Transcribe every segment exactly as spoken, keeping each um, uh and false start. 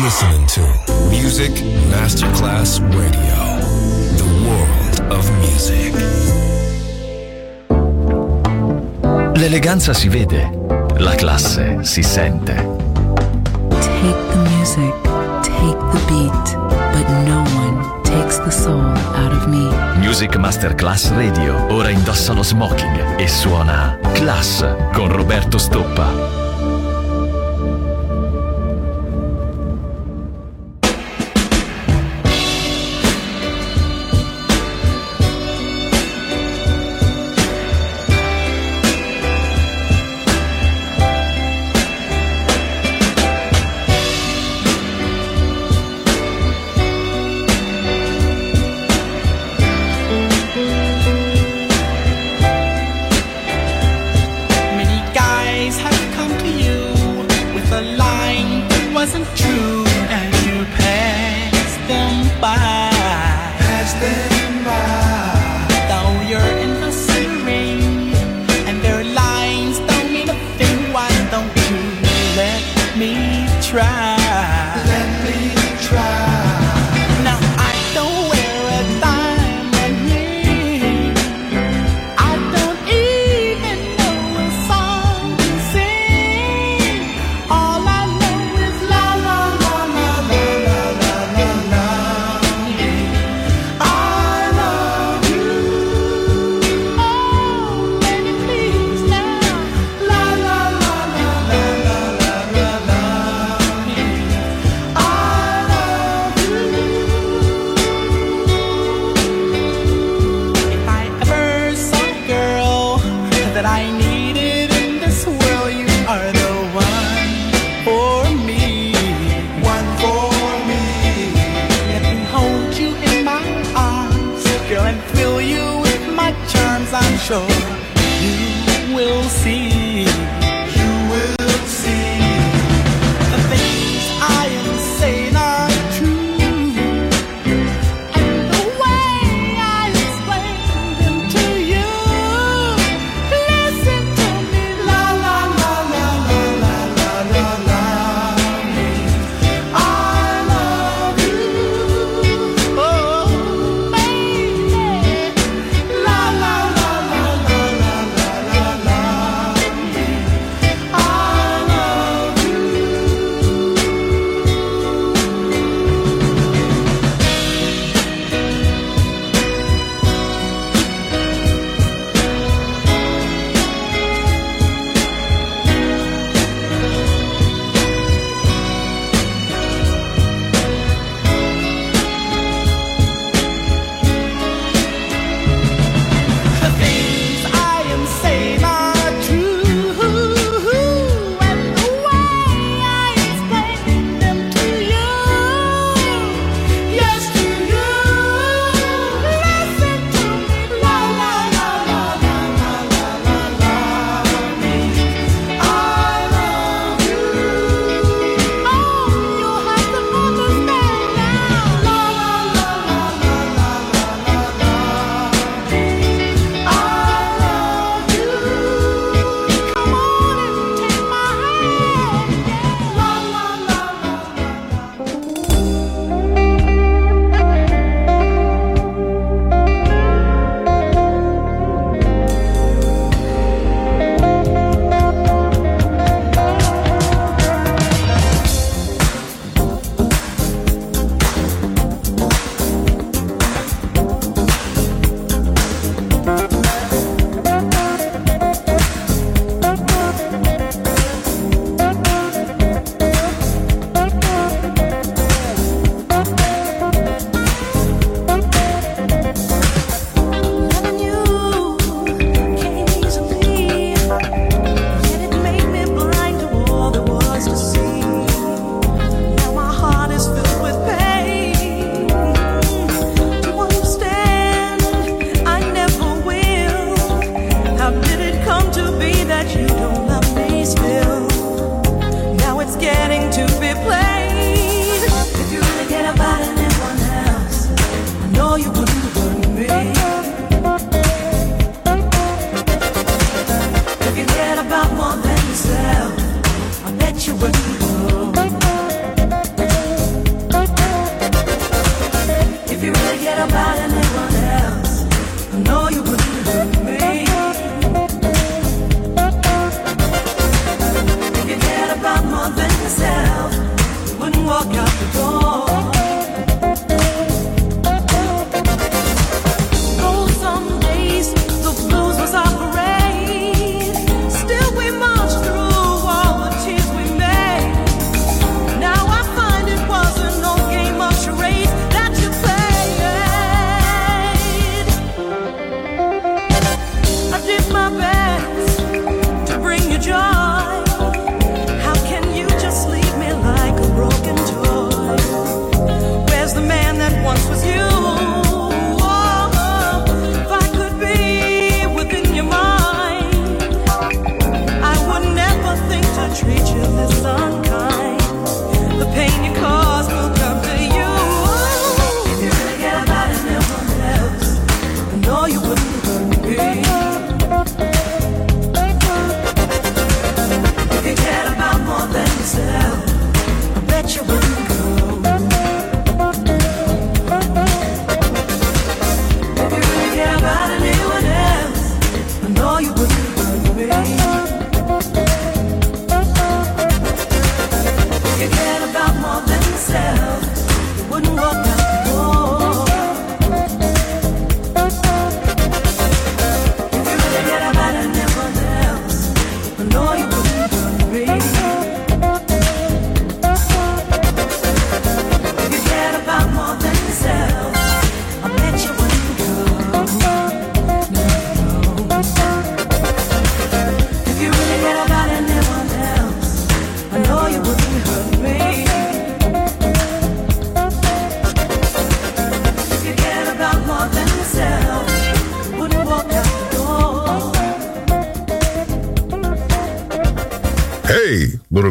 listening to Music Masterclass Radio, the world of music. L'eleganza si vede, la classe si sente. Take the music, take the beat, but no one takes the soul out of me. Music Masterclass Radio ora indossa lo smoking e suona Class con Roberto Stoppa.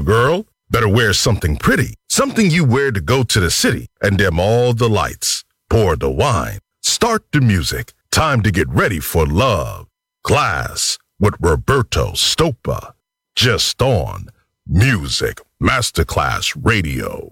girl? Better wear something pretty, something you wear to go to the city and dim all the lights. Pour the wine, start the music. Time to get ready for love. Glass with Roberto Stoppa. Just on Music Masterclass Radio.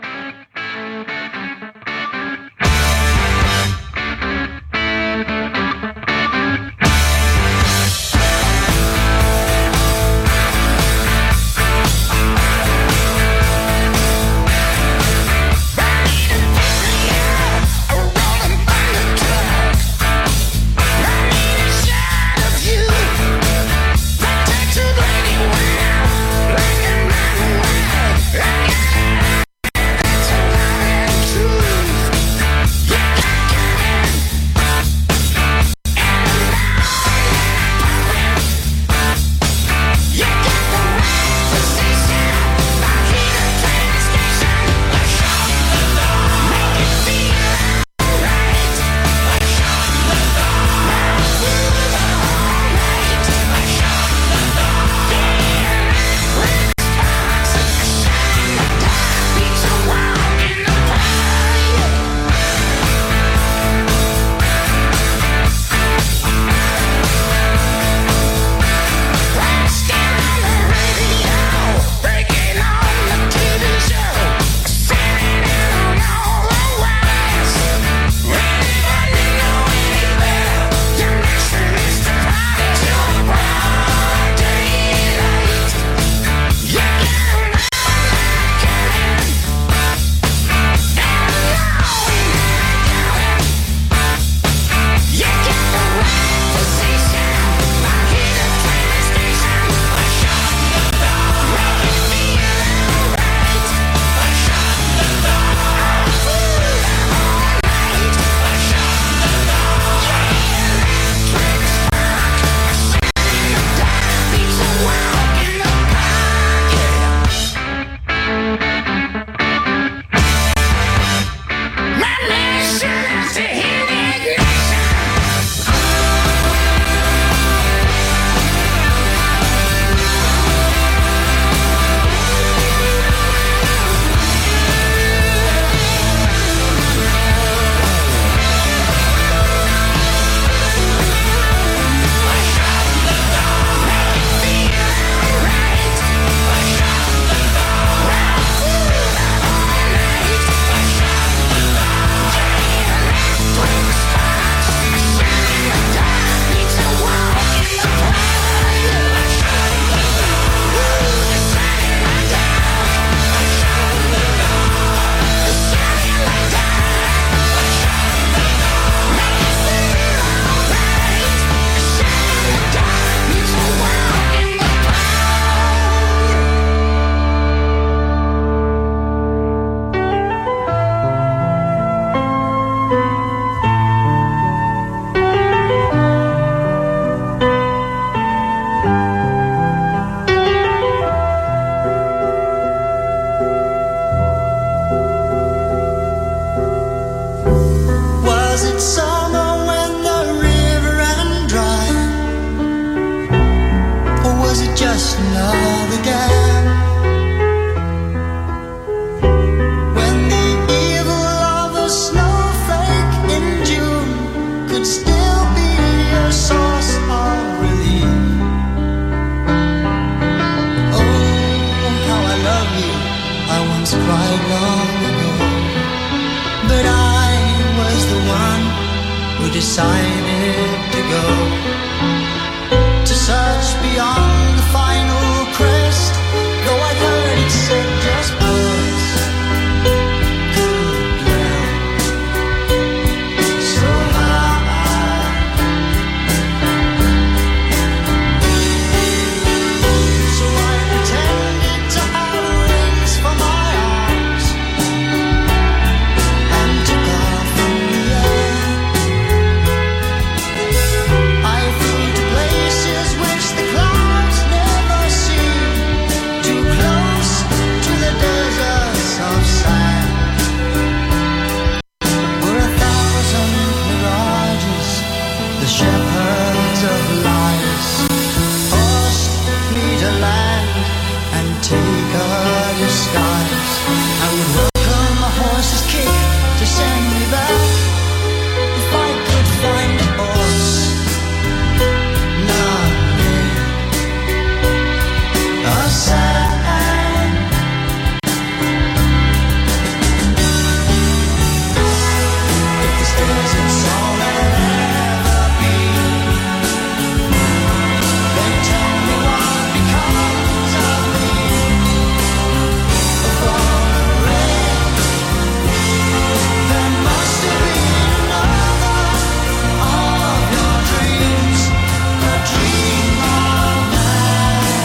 Decided to go to search beyond the final crest, though I heard it said just words could dwell so high. So I pretended to have wings for my arms and took off in the air. I flew to places which the clouds skies. I would welcome a horse's kick to send me back. If I could find a horse, not me, a sign. If this desert's all there'll ever be, then tell me what becomes of me. Upon a red, there must have been another of your dreams, a dream of man,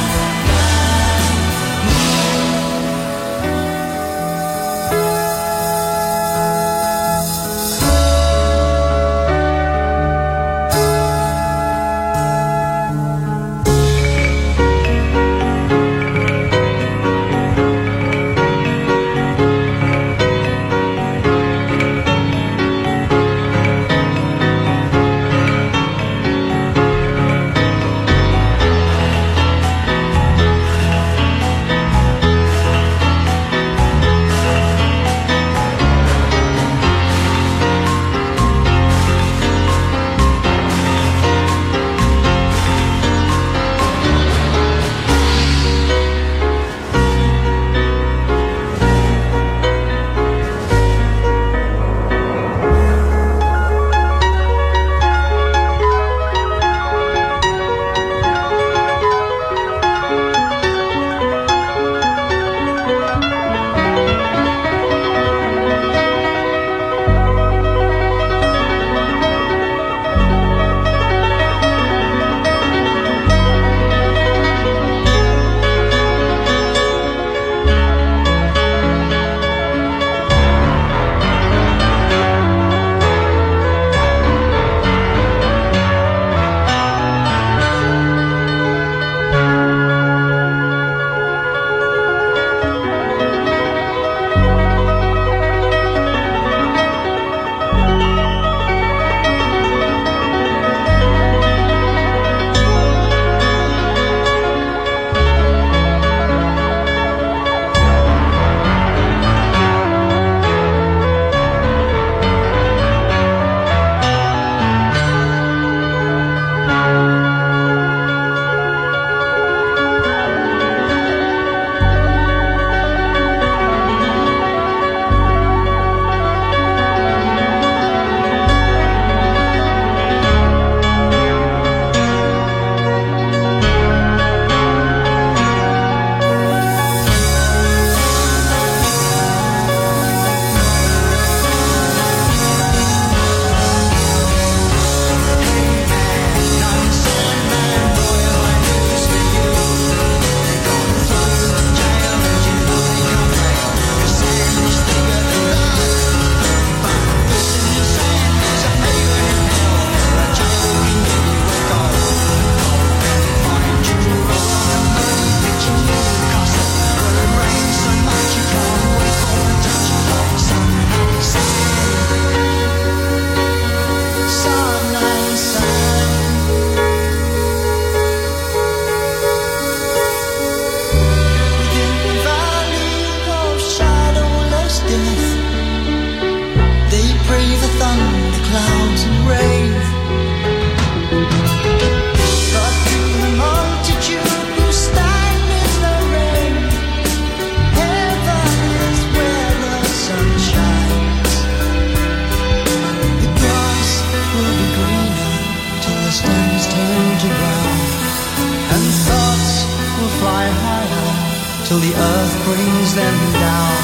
till the earth brings them down.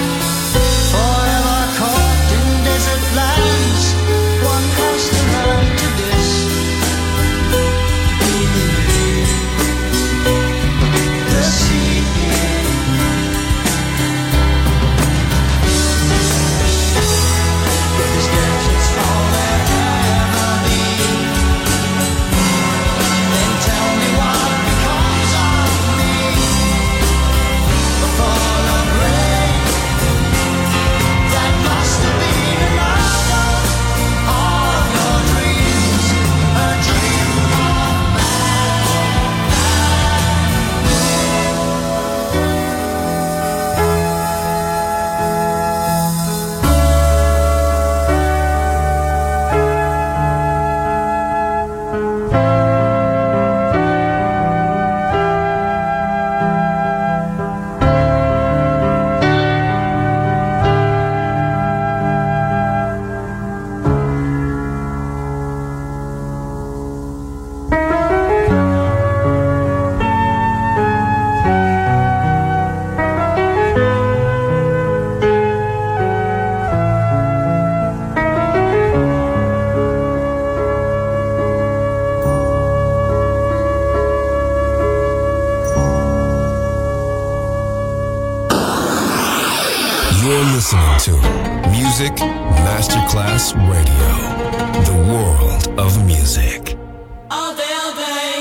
Forever caught in desert lands, one has to learn to this. The sea. If this desert's all there ever be, then tell me what becomes of me. A fall of rain. You're listening to Music Masterclass Radio, the world of music. All day, all day.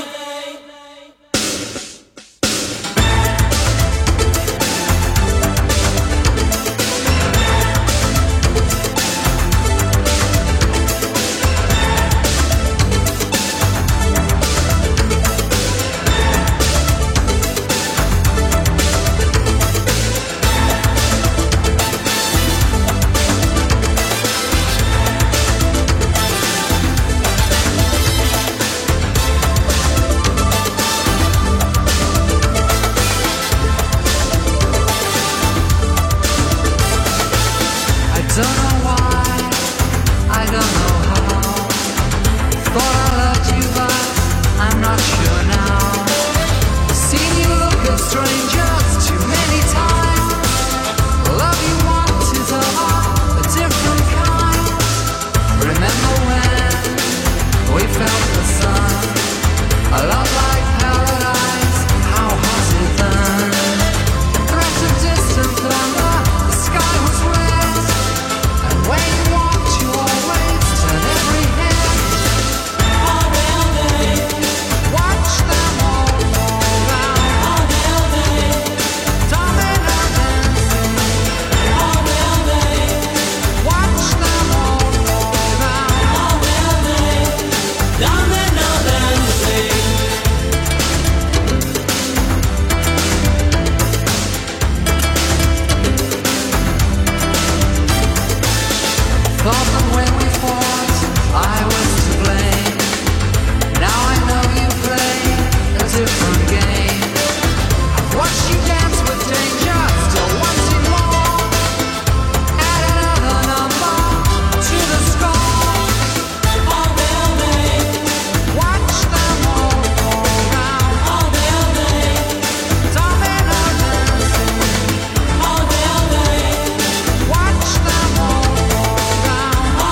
Watch them all go round.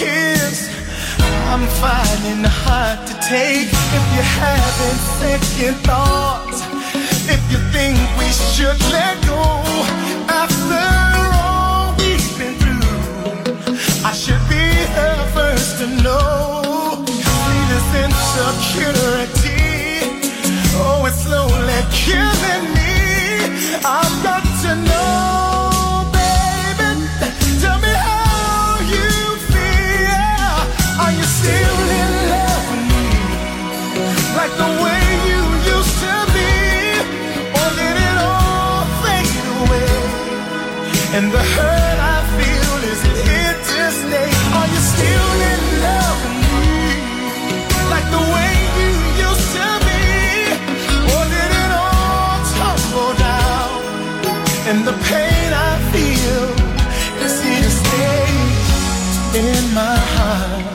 kiss. I'm finding it hard to take. If you're having second thoughts, if you think we should let go, after all we've been through, I should be the first to know. See this insecurity, oh, it's slowly killing me. I've got to know, baby, tell me how you feel. Are you still in love with me, like the way you used to be? Or did it all fade away? And the hurt I feel, is it here to stay? Are you still in love with me, like the way you used to be? Or did it all tumble down? And the pain I feel is here to stay in my heart.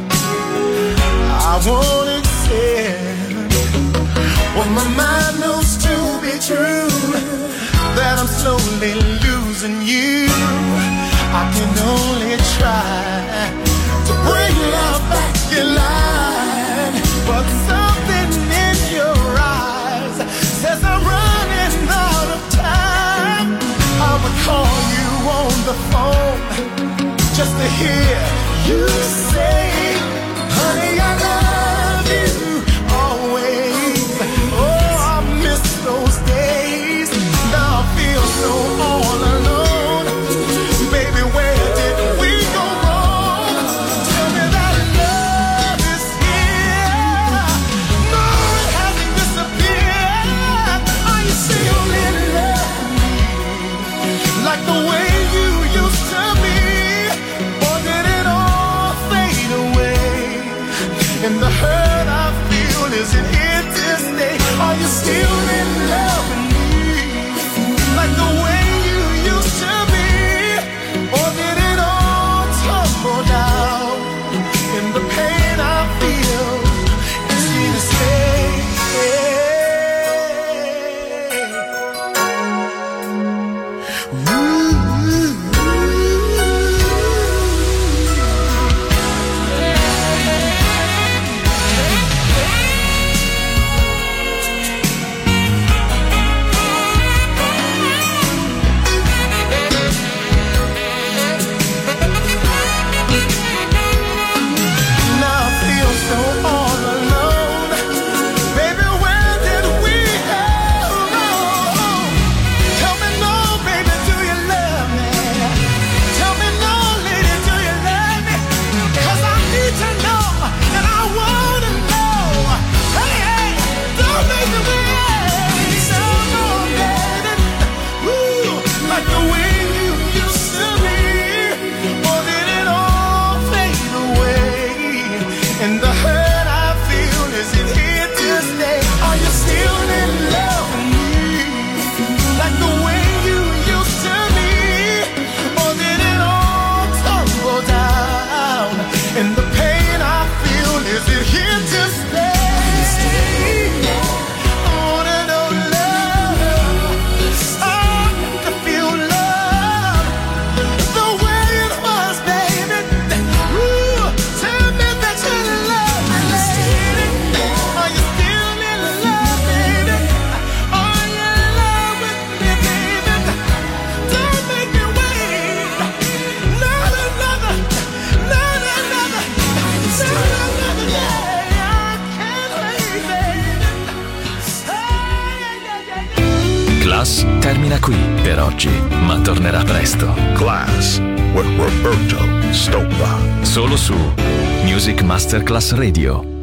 I won't accept what my mind knows to be true, that I'm slowly losing you. I can only try to bring love back in line, but something in your eyes says I'm running out of time. I would call you on the phone just to hear you say, honey, I love you always. Oh, I miss those days. Now I feel so all alone. Baby, where did we go wrong? Tell me that love is here. No, it hasn't disappeared. Are you still in love with me, like the way you used to be? Or did it all fade away? And the hurt I feel, is it here to stay? Are you still in love with me, like the way you used to be? Or did it all tumble down? And the pain I feel is here to stay. Now I feel so all alone. Baby, where did we go wrong? Tell me no, baby, do you love me? Tell me no, lady, do you love me? 'Cause I need to know, and I wanna know. Hey, hey, don't make me wait. So no, baby, ooh, like the way you used to be. Or did it all fade away? And the hurt I feel, is it here to stay? Are you still in love with me, like the way you used to be? Or did it all tumble down? And the pain I feel, is it here to stay? I wanna know love. I want to feel love the way it was, baby. Ooh, tell me that you love me, lady. Are you still in love, baby? Are you in love with me, baby? Don't make me wait. Not another, not another, not another day. I can't wait, baby. Hey, yeah, yeah, yeah. Class termina qui per oggi, ma tornerà presto. Class with Roberto Stoppa. Solo su Music Masterclass Radio.